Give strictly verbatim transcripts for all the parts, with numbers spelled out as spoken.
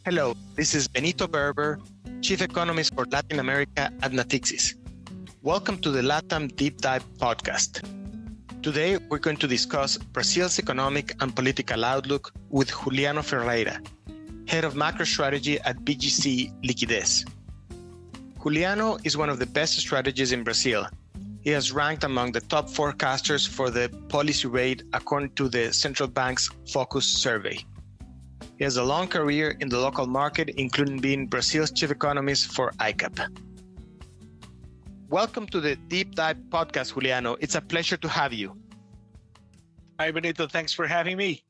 Hello, this is Benito Berber, Chief Economist for Latin America at Natixis. Welcome to the LATAM Deep Dive podcast. Today, we're going to discuss Brazil's economic and political outlook with Juliano Ferreira, Head of Macro Strategy at B G C Liquidez. Juliano is one of the best strategists in Brazil. He has ranked among the top forecasters for the policy rate according to the central bank's Focus survey. He has a long career in the local market, including being Brazil's chief economist for I C A P. Welcome to the Deep Dive podcast, Juliano. It's a pleasure to have you. Hi, Benito. Thanks for having me.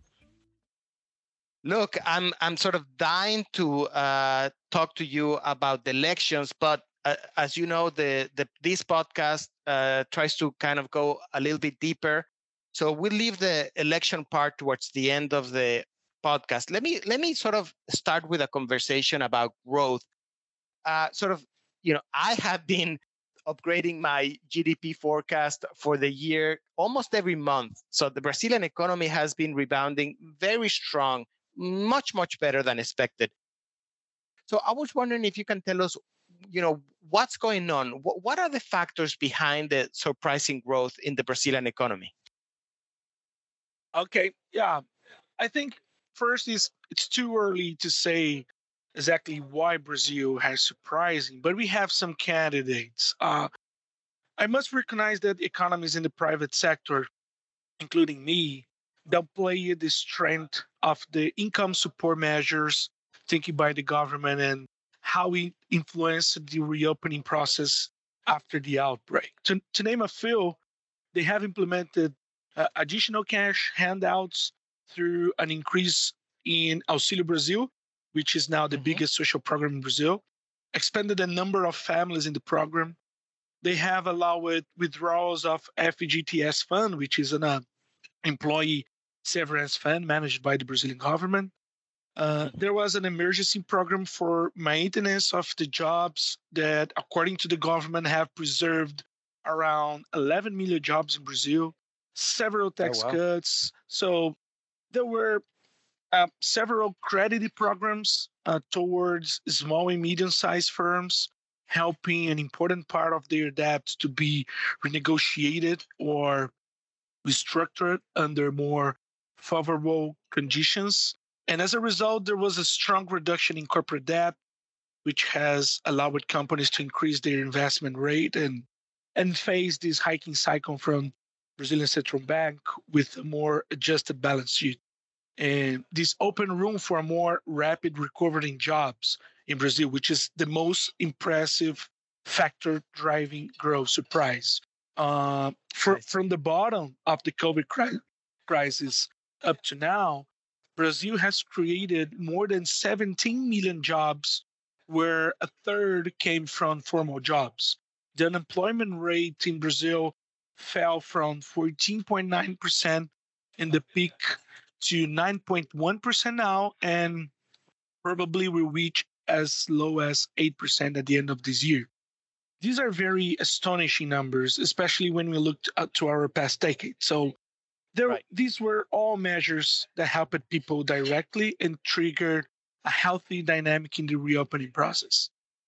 Look, I'm I'm sort of dying to uh, talk to you about the elections, but uh, as you know, the, the this podcast uh, tries to kind of go a little bit deeper. So we'll leave the election part towards the end of the podcast. Let me let me sort of start with a conversation about growth. Uh, sort of, you know, I have been upgrading my G D P forecast for the year almost every month. So the Brazilian economy has been rebounding very strong, much, much better than expected. So I was wondering if you can tell us, you know, what's going on? What, what are the factors behind the surprising growth in the Brazilian economy? Okay, yeah. I think first is it's too early to say exactly why Brazil has surprising, but we have some candidates. Uh, I must recognize that economies in the private sector, including me, downplay the strength of the income support measures taken by the government and how it influenced the reopening process after the outbreak. To, to name a few, they have implemented uh, additional cash handouts through an increase in Auxílio Brasil, which is now the mm-hmm. biggest social program in Brazil, expanded the number of families in the program. They have allowed withdrawals of F G T S fund, which is an uh, employee severance fund managed by the Brazilian government. Uh, mm-hmm. There was an emergency program for maintenance of the jobs that, according to the government, have preserved around eleven million jobs in Brazil, several tax oh, wow. cuts. So there were uh, several credit programs uh, towards small and medium-sized firms, helping an important part of their debt to be renegotiated or restructured under more favorable conditions. And as a result, there was a strong reduction in corporate debt, which has allowed companies to increase their investment rate and, and face this hiking cycle from Brazilian Central Bank with a more adjusted balance sheet. And this opened room for a more rapid recovery in jobs in Brazil, which is the most impressive factor driving growth surprise. Uh, for, nice. From the bottom of the COVID cri- crisis up to now, Brazil has created more than seventeen million jobs, where a third came from formal jobs. The unemployment rate in Brazil fell from fourteen point nine percent in the peak to nine point one percent now, and probably will reach as low as eight percent at the end of this year. These are very astonishing numbers, especially when we looked at to our past decade. So there, right. These were all measures that helped people directly and triggered a healthy dynamic in the reopening process.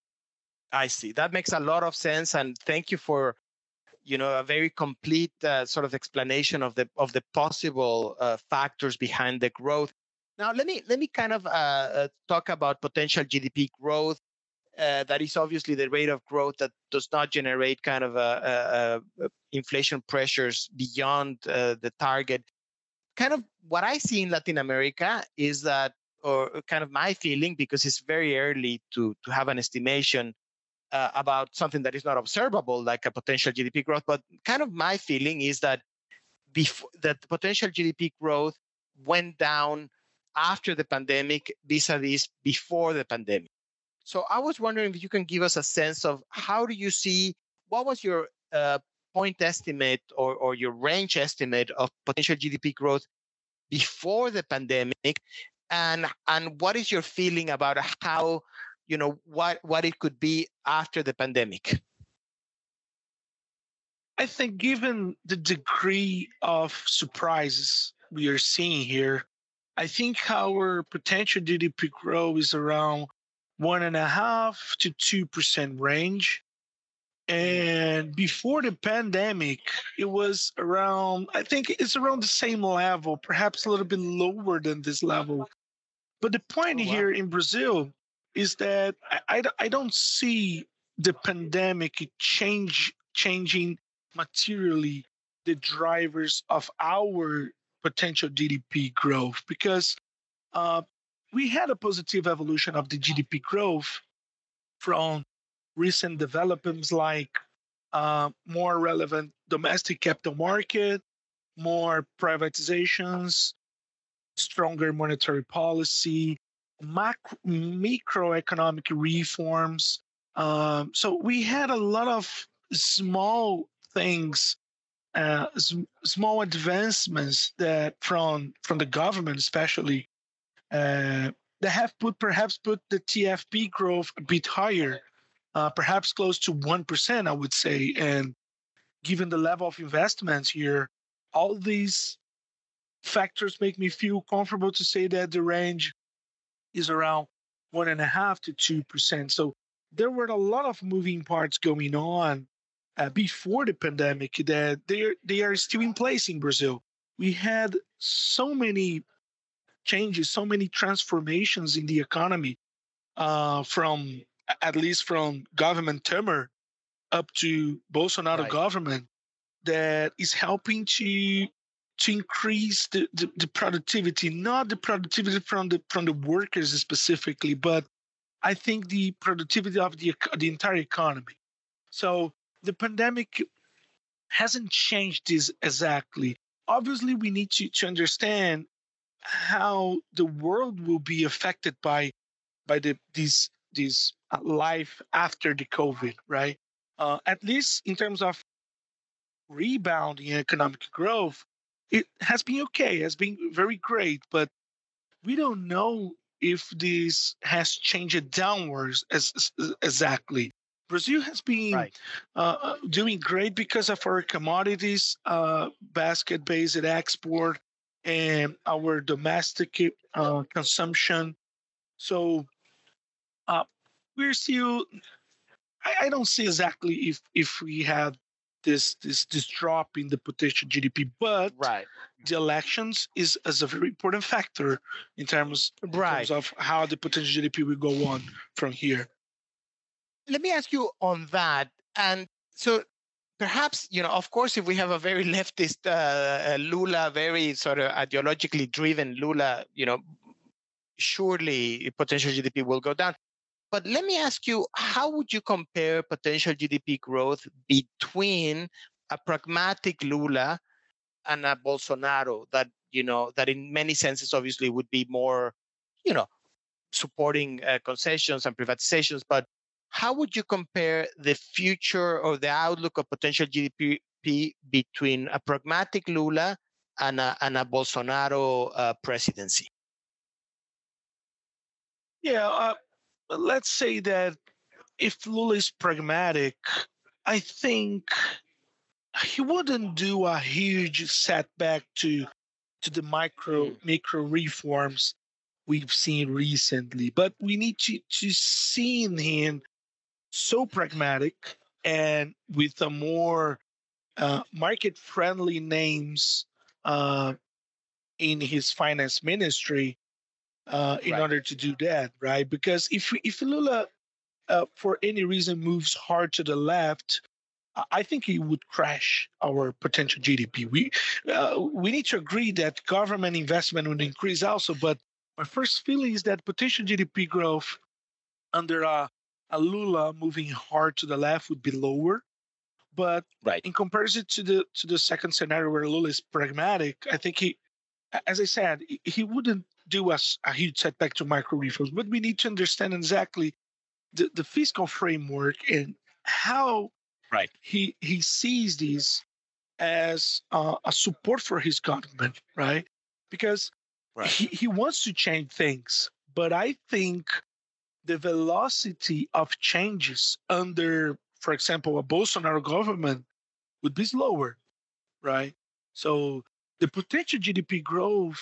I see. That makes a lot of sense. And thank you for you know, a very complete uh, sort of explanation of the of the possible uh, factors behind the growth. Now, let me let me kind of uh, uh, talk about potential G D P growth. Uh, that is obviously the rate of growth that does not generate kind of a, a, a inflation pressures beyond uh, the target. Kind of what I see in Latin America is that, or kind of my feeling, because it's very early to to have an estimation Uh, about something that is not observable, like a potential G D P growth. But kind of my feeling is that before that the potential G D P growth went down after the pandemic vis-a-vis before the pandemic. So I was wondering if you can give us a sense of how do you see, what was your uh, point estimate or, or your range estimate of potential G D P growth before the pandemic, and and what is your feeling about how you know, what, what it could be after the pandemic? I think given the degree of surprises we are seeing here, I think our potential G D P growth is around one and a half to two percent range. Mhm. And before the pandemic, it was around, I think it's around the same level, perhaps a little bit lower than this level. But the point Oh wow. here in Brazil is that I, I, I don't see the pandemic change changing materially the drivers of our potential G D P growth because uh, we had a positive evolution of the G D P growth from recent developments like uh, more relevant domestic capital market, more privatizations, stronger monetary policy, macro, microeconomic reforms. Um, so we had a lot of small things, uh, s- small advancements that from from the government, especially, uh, that have put perhaps put the T F P growth a bit higher, uh, perhaps close to one percent, I would say. And given the level of investments here, all these factors make me feel comfortable to say that the range is around one and a half to two percent. So there were a lot of moving parts going on uh, before the pandemic that they are, they are still in place in Brazil. We had so many changes, so many transformations in the economy, uh, from at least from government Temer up to Bolsonaro Right. government that is helping to to increase the, the, the productivity, not the productivity from the from the workers specifically, but I think the productivity of the the entire economy. So the pandemic hasn't changed this exactly. Obviously, we need to, to understand how the world will be affected by by the these these uh, life after the COVID, right? Uh, at least in terms of rebounding in economic growth, it has been okay, has been very great, but we don't know if this has changed downwards as, as exactly. Brazil has been Right. uh, uh, doing great because of our commodities uh, basket based export and our domestic uh, consumption. So uh, we're still. I, I don't see exactly if if we have this this this drop in the potential G D P, but Right. the elections is is a very important factor in terms in terms Right. of how the potential G D P will go on from here. Let me ask you on that. And so perhaps, you know, of course, if we have a very leftist uh, uh, Lula, very sort of ideologically driven Lula, you know, surely potential G D P will go down. But let me ask you, how would you compare potential G D P growth between a pragmatic Lula and a Bolsonaro that, you know, that in many senses obviously would be more, you know, supporting uh, concessions and privatizations, but how would you compare the future or the outlook of potential G D P between a pragmatic Lula and a, and a Bolsonaro uh, presidency? Yeah, uh, let's say that if Lula is pragmatic, I think he wouldn't do a huge setback to to the micro Mm, micro reforms we've seen recently. But we need to to see in him so pragmatic and with a more uh, market friendly names uh, in his finance ministry uh, in right. order to do that, right? Because if if Lula uh, for any reason moves hard to the left, I I think it would crash our potential G D P. We uh, we need to agree that government investment would increase also, but my first feeling is that potential G D P growth under a, a Lula moving hard to the left would be lower. But Right. in comparison to the to the second scenario where Lula is pragmatic, I think he, as I said, he he wouldn't do us a huge setback to micro reforms. But we need to understand exactly the, the fiscal framework and how Right. he he sees these as uh, a support for his government, right? Because Right. he, he wants to change things, but I think the velocity of changes under, for example, a Bolsonaro government would be slower, right? So the potential G D P growth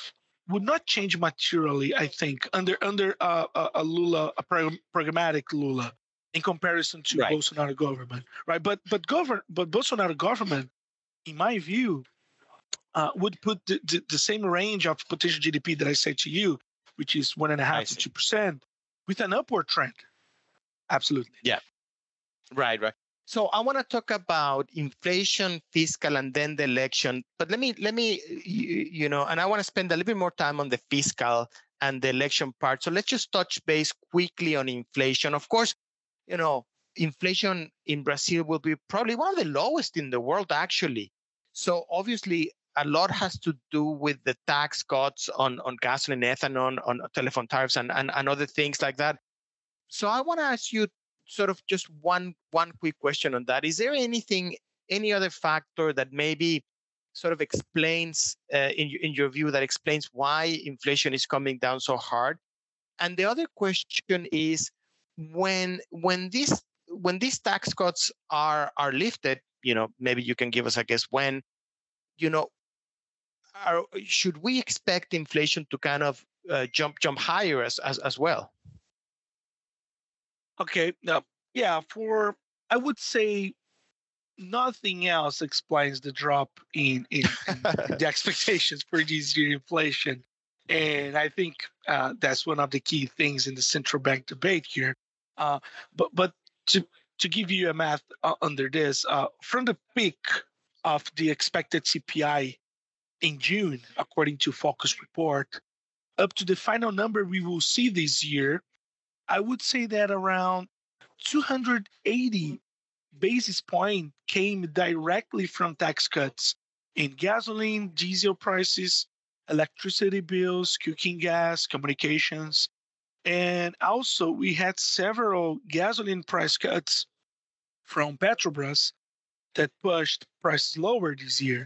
would not change materially, I think, under under uh, a, a Lula, a prag- pragmatic Lula, in comparison to Right. Bolsonaro government, right? But but govern but Bolsonaro government, in my view, uh, would put the, the, the same range of potential G D P that I said to you, which is one and a I half to see. two percent, with an upward trend. Absolutely. Yeah. Right, right. So I want to talk about inflation, fiscal, and then the election. But let me let me you, you know, and I want to spend a little bit more time on the fiscal and the election part. So let's just touch base quickly on inflation. Of course, you know, inflation in Brazil will be probably one of the lowest in the world, actually. So obviously, a lot has to do with the tax cuts on on gasoline, ethanol, on telephone tariffs, and and, and other things like that. So I want to ask you sort of just one one quick question on that. Is there anything, any other factor that maybe sort of explains, uh, in in your view, that explains why inflation is coming down so hard? And the other question is, when when these when these tax cuts are are lifted, you know, maybe you can give us, I guess, when, you know, are, should we expect inflation to kind of uh, jump jump higher as as as well? Okay. Now, yeah, for I would say nothing else explains the drop in in, in the expectations for this year inflation, and I think uh, that's one of the key things in the central bank debate here. Uh, but but to to give you a math uh, under this, uh, from the peak of the expected C P I in June, according to Focus report, up to the final number we will see this year, I would say that around two hundred eighty basis point came directly from tax cuts in gasoline, diesel prices, electricity bills, cooking gas, communications. And also, we had several gasoline price cuts from Petrobras that pushed prices lower this year.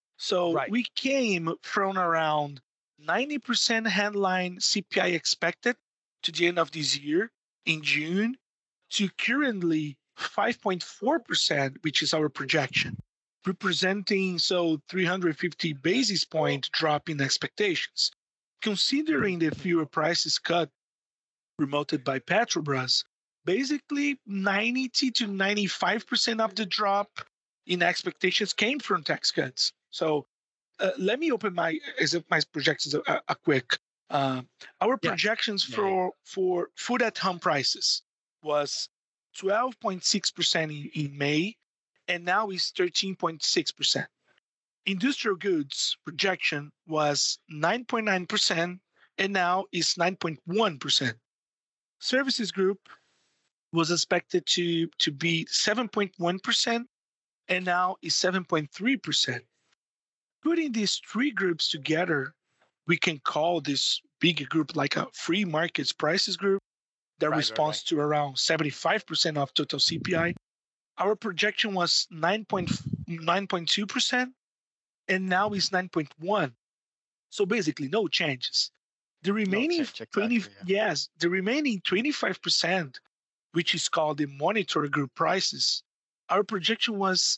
So Right. we came from around ninety percent headline C P I expected to the end of this year in June to currently five point four percent, which is our projection, representing so three hundred fifty basis point drop in expectations. Considering the fuel prices cut promoted by Petrobras, basically ninety to ninety-five percent of the drop in expectations came from tax cuts. So uh, let me open my as if my projections a, a quick. Uh, our Yeah. projections Yeah, for for food at home prices was twelve point six percent in, in May, and now is thirteen point six percent. Industrial goods projection was nine point nine percent, and now is nine point one percent. Services group was expected to, to be seven point one percent, and now is seven point three percent. Putting these three groups together, we can call this bigger group like a free markets prices group that Right, right, responds right. to around seventy-five percent of total C P I. Our projection was nine point nine point two percent, and now is nine point one. So basically, no changes. The No remaining change, twenty, exactly. Yeah. yes, the remaining twenty-five percent, which is called the monitor group prices, our projection was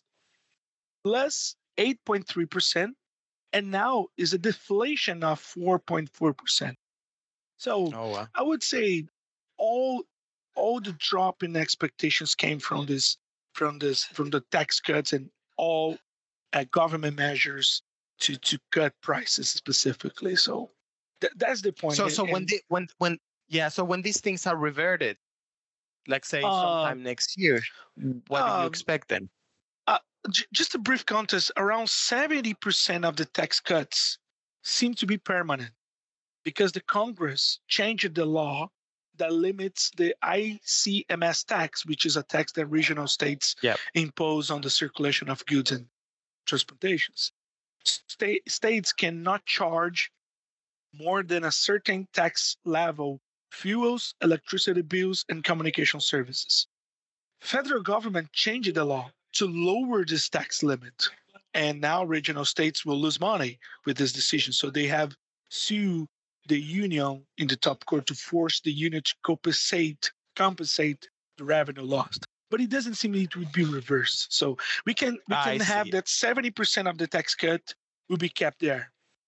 plus eight point three percent, and now is a deflation of four point four percent. So Oh, wow. I would say all all the drop in expectations came from this from this from the tax cuts and all uh, government measures to to cut prices specifically. So th- that's the point. So And, so when and the when when yeah, so when these things are reverted, like say uh, sometime next year, what do you um, expect then? uh, j- just a brief context: around seventy percent of the tax cuts seem to be permanent because the Congress changed the law that limits the I C M S tax, which is a tax that regional states Yeah. impose on the circulation of goods and transportations. State, states cannot charge more than a certain tax level fuels, electricity bills, and communication services. Federal government changed the law to lower this tax limit, and now regional states will lose money with this decision. So they have sued the union in the top court to force the union to compensate compensate the revenue lost. But it doesn't seem it would be reversed. So we can we I can have see. that seventy percent of the tax cut will be kept there.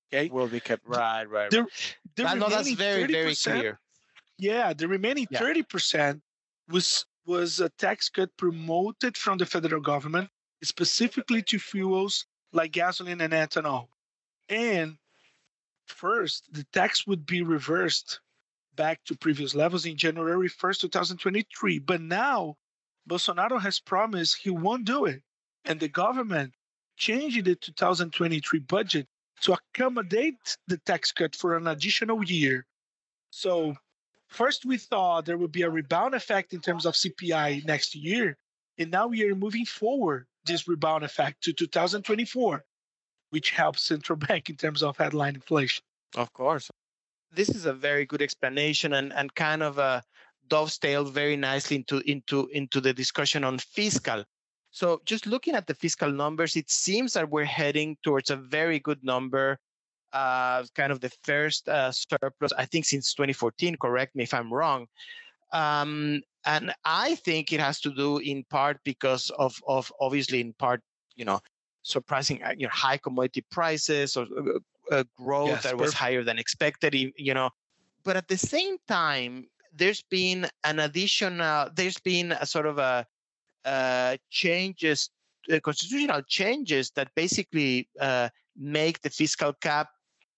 Okay, Will be kept. Right, right, the right. the I know that's remaining very, thirty very percent, clear. yeah, the remaining Yeah. thirty percent was was a tax cut promoted from the federal government specifically to fuels like gasoline and ethanol. And first, the tax would be reversed back to previous levels in January first, twenty twenty-three. But now, Bolsonaro has promised he won't do it. And the government changed the two thousand twenty-three budget to accommodate the tax cut for an additional year. So, first we thought there would be a rebound effect in terms of C P I next year. And now we are moving forward this rebound effect to two thousand twenty-four, which helps central bank in terms of headline inflation. Of course. This is a very good explanation and, and kind of a dovetailed very nicely into into into the discussion on fiscal. So just looking at the fiscal numbers, it seems that we're heading towards a very good number, uh, kind of the first uh, surplus, I think, since twenty fourteen. Correct me if I'm wrong. Um, and I think it has to do in part because of of obviously in part, you know, surprising uh, you know high commodity prices or uh, uh, growth Yes, that was perfect. higher than expected. y- You know, but at the same time, there's been an additional. There's been a sort of a uh, changes, uh, constitutional changes that basically uh, make the fiscal cap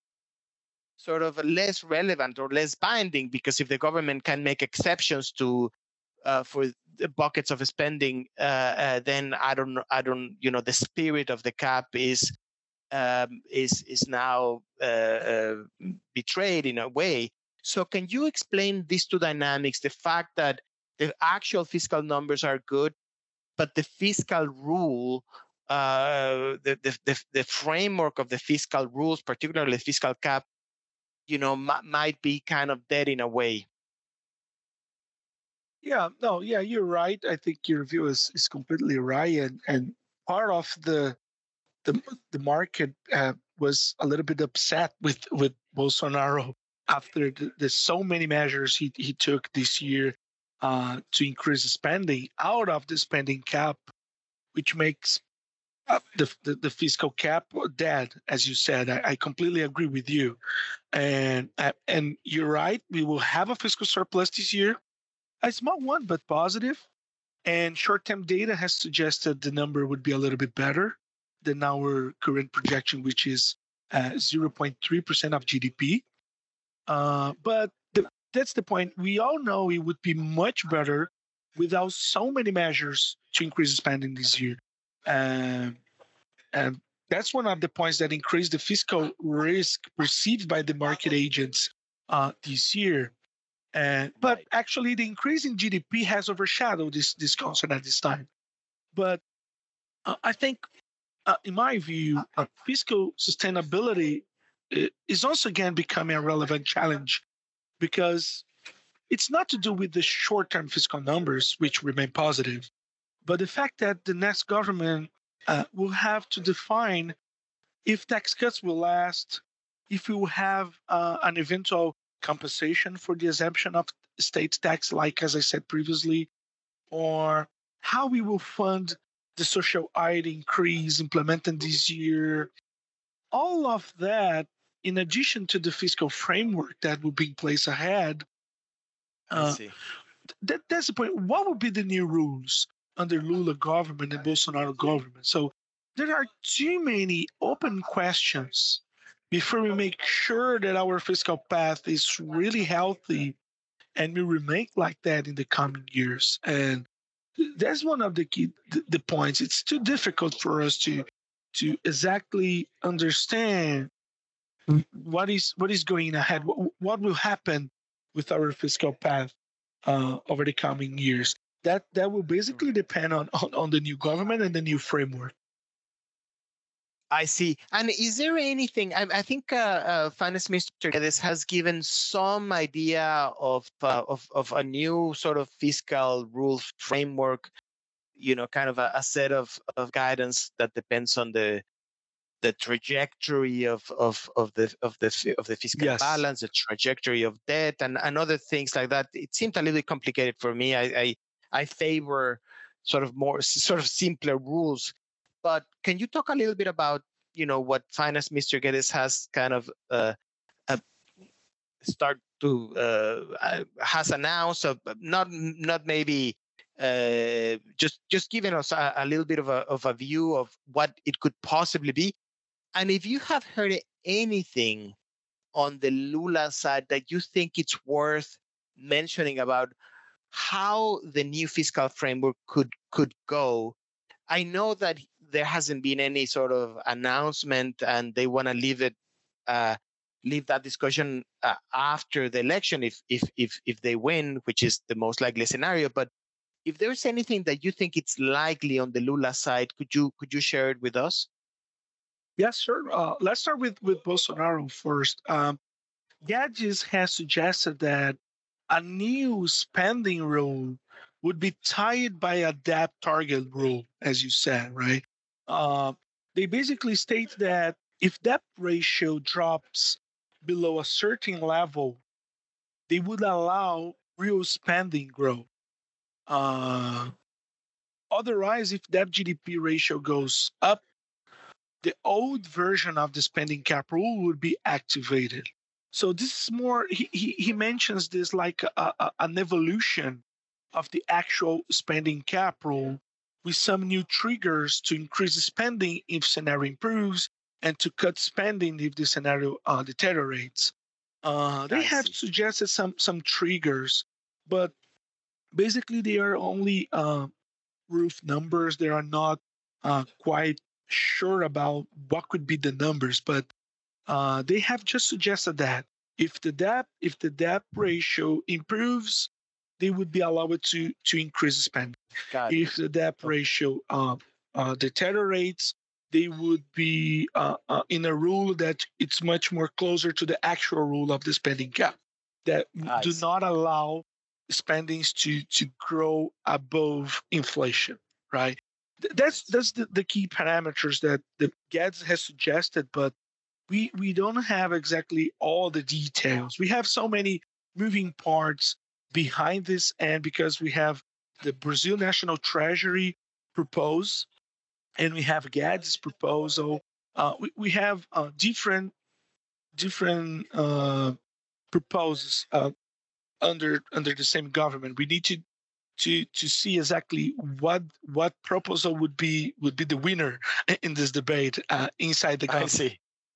sort of less relevant or less binding because if the government can make exceptions to uh, for the buckets of spending, uh, uh, then I don't know, I don't, you know, the spirit of the cap is um, is is now uh, uh, betrayed in a way. So, can you explain these two dynamics? The fact that the actual fiscal numbers are good, but the fiscal rule, uh, the, the the the framework of the fiscal rules, particularly the fiscal cap, you know, m- might be kind of dead in a way. Yeah, no, yeah, you're right. I think your view is, is completely right. And, and part of the the, the market uh, was a little bit upset with, with Bolsonaro after the, the so many measures he, he took this year uh, to increase spending out of the spending cap, which makes uh, the, the, the fiscal cap dead, as you said. I, I completely agree with you. And, uh, and you're right, we will have a fiscal surplus this year, a small one, but positive. And short term data has suggested the number would be a little bit better than our current projection, which is uh, zero point three percent of G D P. Uh, but the, that's the point. We all know it would be much better without so many measures to increase spending this year. Um, and that's one of the points that increase the fiscal risk perceived by the market agents uh, this year. And but Right. actually, the increase in G D P has overshadowed this this concern at this time. But uh, I think, uh, in my view, uh, fiscal sustainability uh, is also again becoming a relevant challenge because it's not to do with the short-term fiscal numbers, which remain positive, but the fact that the next government uh, will have to define if tax cuts will last, if we will have uh, an eventual compensation for the exemption of state tax, like as I said previously, or how we will fund the social aid increase implemented this year. All of that, in addition to the fiscal framework that will be in place ahead, I uh, see. that, that's the point. What will be the new rules under Lula government and Bolsonaro government? So there are too many open questions before we make sure that our fiscal path is really healthy and will remain like that in the coming years. And that's one of the key the, the points. It's too difficult for us to to exactly understand what is what is going ahead. What, what will happen with our fiscal path uh, over the coming years? That that will basically depend on, on on the new government and the new framework. I see. And is there anything? I, I think uh, uh, Finance Minister Guedes has given some idea of, uh, of of a new sort of fiscal rules framework. You know, kind of a, a set of, of guidance that depends on the the trajectory of of of the of the fi- of the fiscal Yes. balance, the trajectory of debt, and and other things like that. It seemed a little bit complicated for me. I I, I favor sort of more sort of simpler rules. But can you talk a little bit about you know, what Finance Mister Geddes has kind of uh, uh, start to uh, has announced, of not not maybe uh, just just giving us a, a little bit of a of a view of what it could possibly be. And if you have heard anything on the Lula side that you think it's worth mentioning about how the new fiscal framework could could go. I know that there hasn't been any sort of announcement, and they want to leave it uh, leave that discussion uh, after the election if if if if they win, which is the most likely scenario. But if there's anything that you think it's likely on the Lula side, could you could you share it with us? Yes, sure. Uh, let's start with with Bolsonaro first. Um, Guedes has suggested that a new spending rule would be tied by a debt target rule, as you said, right? Uh, they basically state that if debt ratio drops below a certain level, they would allow real spending growth. Uh, Otherwise, if debt G D P ratio goes up, the old version of the spending cap rule would be activated. So this is more, he, he, he mentions this like a, a, an evolution of the actual spending cap rule with some new triggers to increase spending if scenario improves and to cut spending if the scenario uh, deteriorates. Uh, they I have see. suggested some some triggers, but basically they are only uh, roof numbers. They are not uh, quite sure about what could be the numbers, but uh, they have just suggested that if the debt if the debt ratio improves, they would be allowed to to increase spending. Got it. If the debt Okay. ratio uh, uh, deteriorates, they would be uh, uh, in a rule that it's much more closer to the actual rule of the spending cap that I do see. not allow spendings to to grow above inflation, right? Th- That's that's the, the key parameters that the Guedes has suggested, but we we don't have exactly all the details. We have so many moving parts behind this, and because we have the Brazil National Treasury propose, and we have Guedes' proposal, uh, we we have uh, different different uh, proposals uh, under under the same government. We need to to to see exactly what what proposal would be would be the winner in this debate uh, inside the I government. see.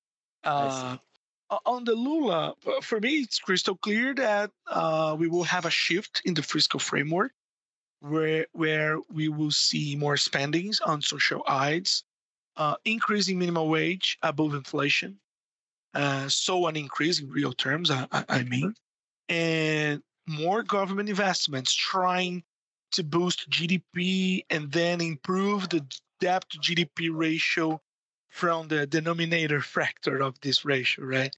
I see. Uh, o- on the Lula, uh, for me, it's crystal clear that uh, we will have a shift in the fiscal framework where where we will see more spendings on social aids, uh, increasing minimum wage above inflation, uh, so an increase in real terms, I, I I mean, and more government investments trying to boost G D P and then improve the debt to G D P ratio from the denominator factor of this ratio, right?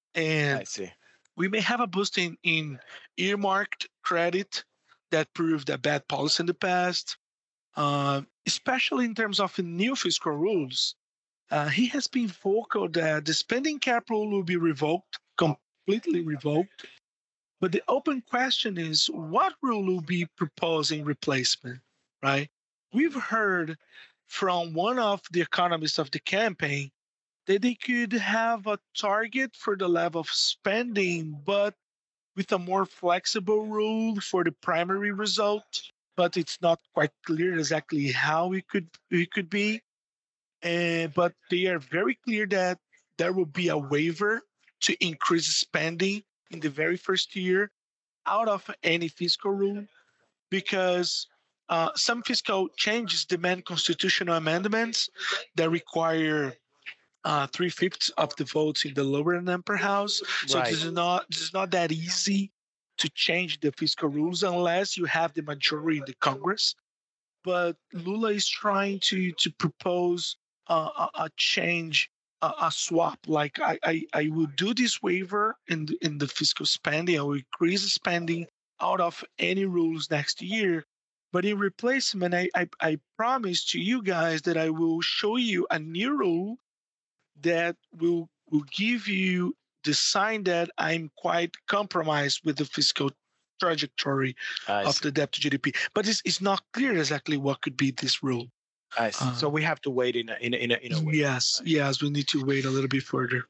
I And see. we may have a boost in, in earmarked credit that proved a bad policy in the past, uh, especially in terms of new fiscal rules. Uh, he has been vocal that the spending cap rule will be revoked, completely revoked. But the open question is what rule will be proposed in replacement, right? We've heard from one of the economists of the campaign that they could have a target for the level of spending, but with a more flexible rule for the primary result. But it's not quite clear exactly how it could it could be. And but they are very clear that there will be a waiver to increase spending in the very first year out of any fiscal rule because uh, some fiscal changes demand constitutional amendments that require uh, three fifths of the votes in the lower and upper house. So Right. this is not this is not that easy to change the fiscal rules unless you have the majority in the Congress. But Lula is trying to to propose uh, a, a change, a, a swap. Like I, I I will do this waiver in the, in the fiscal spending. I will increase the spending out of any rules next year. But in replacement, I, I I promise to you guys that I will show you a new rule that will will give you the sign that I'm quite compromised with the fiscal trajectory I of see. the debt to G D P. But it's, it's not clear exactly what could be this rule. I see. So Uh, we have to wait in a, in a, in a, in a way. yes, I see. yes, we need to wait a little bit further.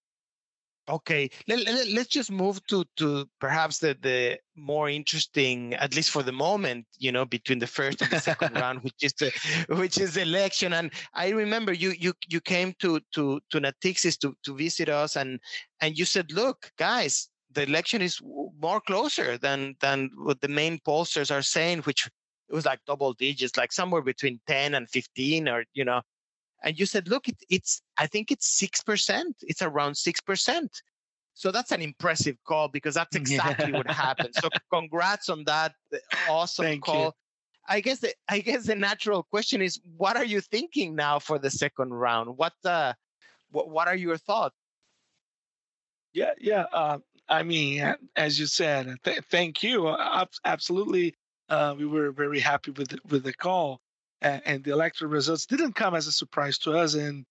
Okay, let, let, let's just move to to perhaps the the more interesting, at least for the moment, you know, between the first and the second round, which is the which is the election. And I remember you you you came to to to Natixis to to visit us, and and you said, look, guys, the election is w- more closer than than what the main pollsters are saying, which it was like double digits, like somewhere between ten and fifteen, or you know, and you said, look, it, it's, I think it's six percent. It's around six percent. So that's an impressive call because that's exactly what Yeah. happened. So congrats on that uh, awesome Thank you. call. I guess the, I guess the natural question is, what are you thinking now for the second round? What uh, what, what are your thoughts? Yeah, yeah. Uh, I mean, a- as you said, th- thank you. Uh, ab- absolutely, uh, we were very happy with the, with the call, and, and the electoral results didn't come as a surprise to us. And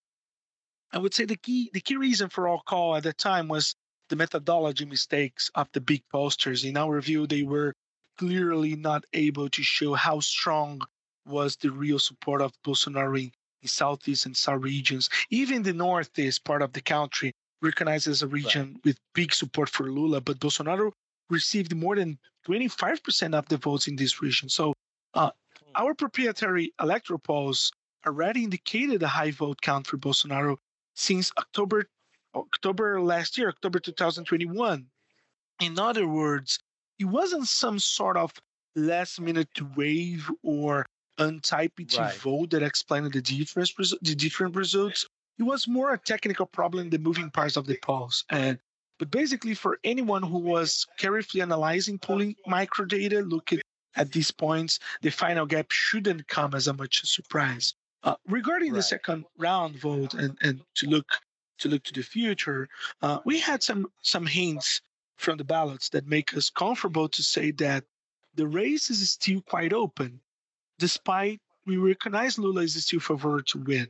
I would say the key the key reason for our call at the time was the methodology mistakes of the big posters. In our view, they were clearly not able to show how strong was the real support of Bolsonaro in, in southeast and south regions. Even the northeast part of the country, recognized as a Right. region with big support for Lula, but Bolsonaro received more than twenty-five percent of the votes in this region. So uh, Hmm. our proprietary electoral polls already indicated a high vote count for Bolsonaro since October October last year, October two thousand twenty-one. In other words, it wasn't some sort of last minute wave or untyped Right. vote that explained the difference the different results. It was more a technical problem in the moving parts of the polls. And but basically for anyone who was carefully analyzing polling microdata, looking at these points, the final gap shouldn't come as a much surprise. Uh, regarding the Right. second round vote and, and to look to look to the future, uh, we had some some hints from the ballots that make us comfortable to say that the race is still quite open, despite we recognize Lula is still favored to win.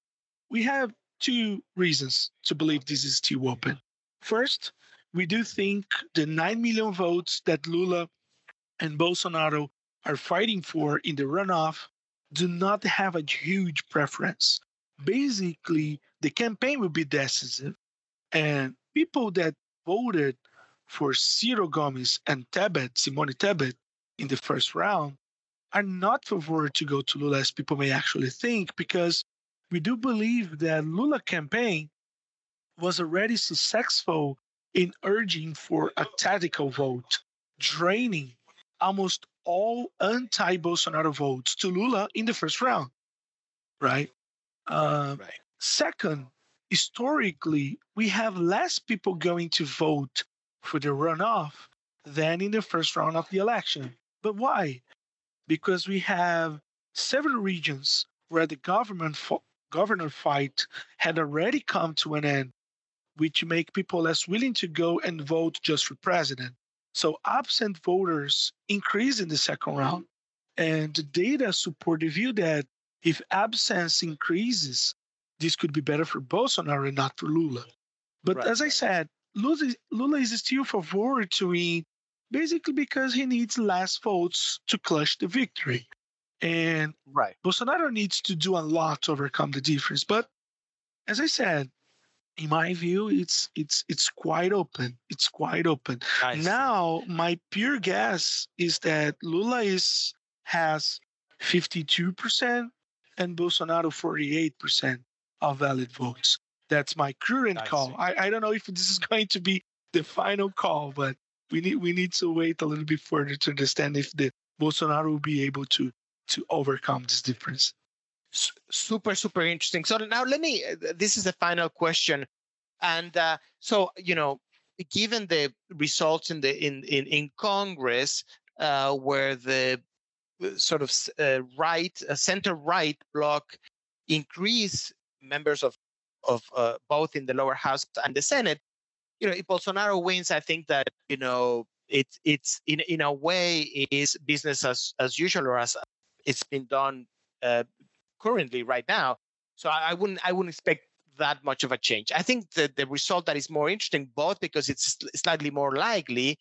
We have two reasons to believe this is still open. First, we do think the nine million votes that Lula and Bolsonaro are fighting for in the runoff do not have a huge preference. Basically, the campaign will be decisive, and people that voted for Ciro Gomes and Tebet, Simone Tebet, in the first round are not favored to go to Lula as people may actually think, because we do believe that Lula campaign was already successful in urging for a tactical vote, draining almost all anti-Bolsonaro votes to Lula in the first round, right? Right. Uh, Right. Second, historically, we have less people going to vote for the runoff than in the first round of the election. But why? Because we have several regions where the government fo- governor fight had already come to an end, which make people less willing to go and vote just for president. So absent voters increase in the second round. And the data support the view that if absence increases, this could be better for Bolsonaro and not for Lula. But Right. as I Right. I see. said, Lula, Lula is still favored to win, basically because he needs less votes to clutch the victory. And Right. Bolsonaro needs to do a lot to overcome the difference. But as I said, in my view, it's it's it's quite open. It's quite open. I see. Now, my pure guess is that Lula is has fifty-two percent and Bolsonaro forty-eight percent of valid votes. That's my current I call. see. I, I don't know if this is going to be the final call, but we need we need to wait a little bit further to understand if the Bolsonaro will be able to to overcome this difference. S- super super interesting. So now let me uh, this is the final question. And uh, so, you know, given the results in the in in, in Congress, uh, where the uh, sort of uh, right uh, center right bloc increase members of of uh, both in the lower house and the Senate, you know, if Bolsonaro wins, I think that, you know, it's it's in in a way is business as as usual, or as it's been done uh, currently right now. So I, I wouldn't I wouldn't expect that much of a change. I think that the result that is more interesting, both because it's slightly more likely,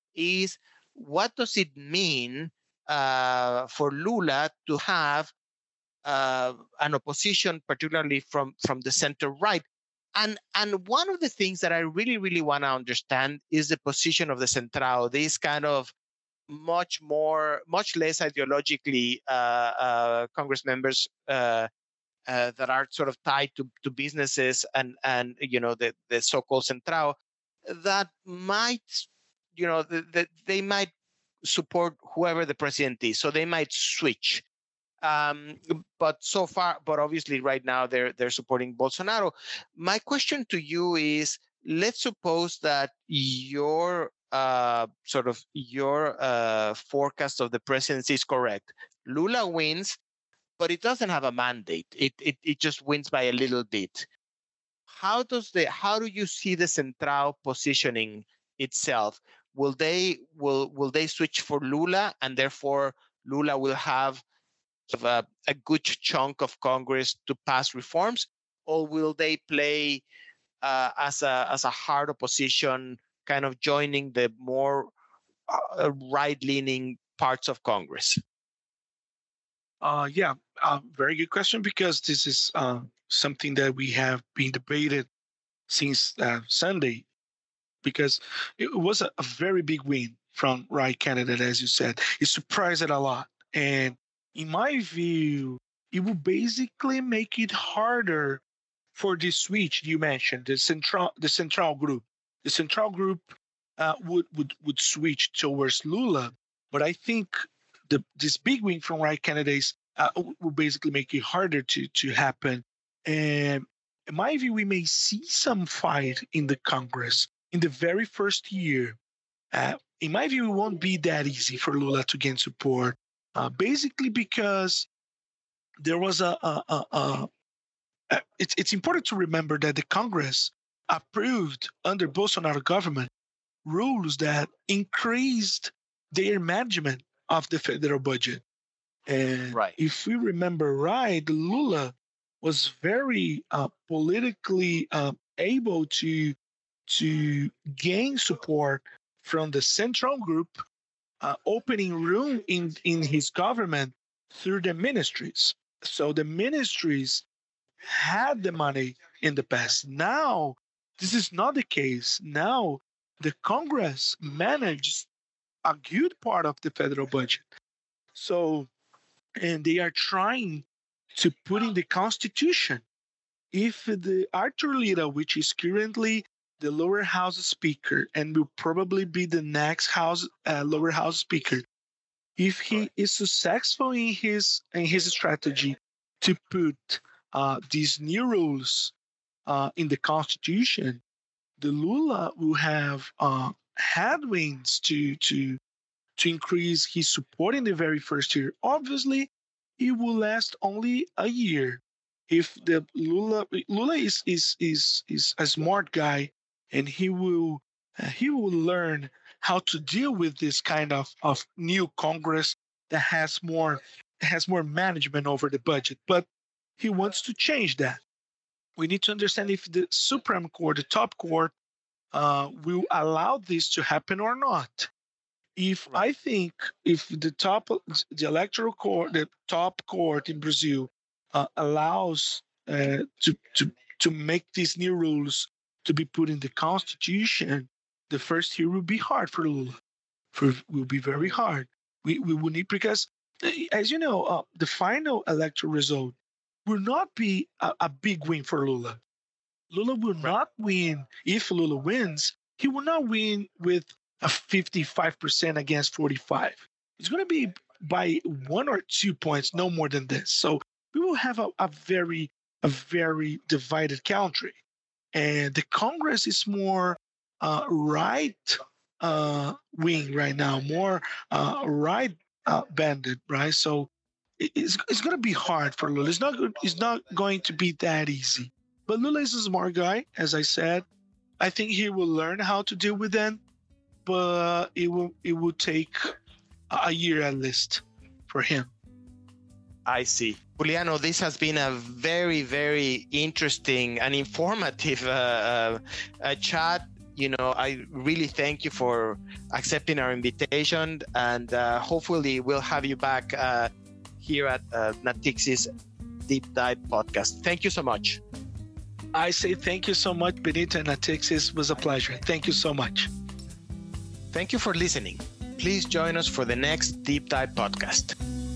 is what does it mean uh, for Lula to have uh, an opposition, particularly from, from the center right. And, and one of the things that I really, really want to understand is the position of the Centrao, this kind of much more, much less ideologically uh, uh, Congress members uh, uh, that are sort of tied to, to businesses and, and you know, the, the so-called Centrao that might, you know, that the, they might support whoever the president is. So they might switch. Um, but so far, but obviously right now they're they're supporting Bolsonaro. My question to you is: let's suppose that your uh, sort of your uh, forecast of the presidency is correct. Lula wins, but it doesn't have a mandate. It it it just wins by a little bit. How does the how do you see the Centrao positioning itself? Will they will will they switch for Lula, and therefore Lula will have of a, a good chunk of Congress to pass reforms, or will they play uh, as a as a hard opposition, kind of joining the more uh, right-leaning parts of Congress? Uh, yeah, uh, very good question, because this is uh, something that we have been debated since uh, Sunday, because it was a, a very big win from right candidate, as you said. It surprised it a lot. And in my view, it will basically make it harder for this switch you mentioned, the central the central group. The central group uh, would, would would switch towards Lula, but I think the this big win from right candidates uh, will basically make it harder to to happen. And in my view, we may see some fight in the Congress in the very first year. Uh, in my view, it won't be that easy for Lula to gain support. Uh, basically, because there was a, a, a, a, a it's it's important to remember that the Congress approved under Bolsonaro government rules that increased their management of the federal budget. And right. If we remember right, Lula was very uh, politically uh, able to to gain support from the central group, Uh, opening room in, in his government through the ministries. So the ministries had the money in the past. Now, this is not the case. Now, the Congress manages a good part of the federal budget. So, and they are trying to put in the Constitution, if the Arthur Lira, which is currently the lower house speaker and will probably be the next house uh, lower house speaker, if he right. is successful in his in his strategy to put uh, these new rules uh, in the Constitution, the Lula will have uh, headwinds to to to increase his support in the very first year. Obviously, it will last only a year. If the Lula Lula is is is is a smart guy, and he will uh, he will learn how to deal with this kind of, of new Congress that has more has more management over the budget. But he wants to change that. We need to understand if the Supreme Court, the top court, uh, will allow this to happen or not. If right. I think if the top the electoral court, the top court in Brazil, uh, allows uh, to to to make these new rules to be put in the Constitution, the first year will be hard for Lula. For will be very hard. We we will need, because, as you know, uh, the final electoral result will not be a, a big win for Lula. Lula will right. not win. If Lula wins, he will not win with a fifty-five percent against forty-five. It's going to be by one or two points, no more than this. So we will have a, a very a very divided country. And the Congress is more uh, right uh, wing right now, more uh, right uh, banded, right? So it's it's going to be hard for Lula. It's not it's not going to be that easy. But Lula is a smart guy, as I said. I think he will learn how to deal with them, but it will it will take a year at least for him. I see. Juliano, this has been a very, very interesting and informative uh, uh, uh, chat. You know, I really thank you for accepting our invitation, and uh, hopefully we'll have you back uh, here at uh, Natixis Deep Dive podcast. Thank you so much. I say thank you so much, Benito and Natixis. It was a pleasure. Thank you so much. Thank you for listening. Please join us for the next Deep Dive podcast.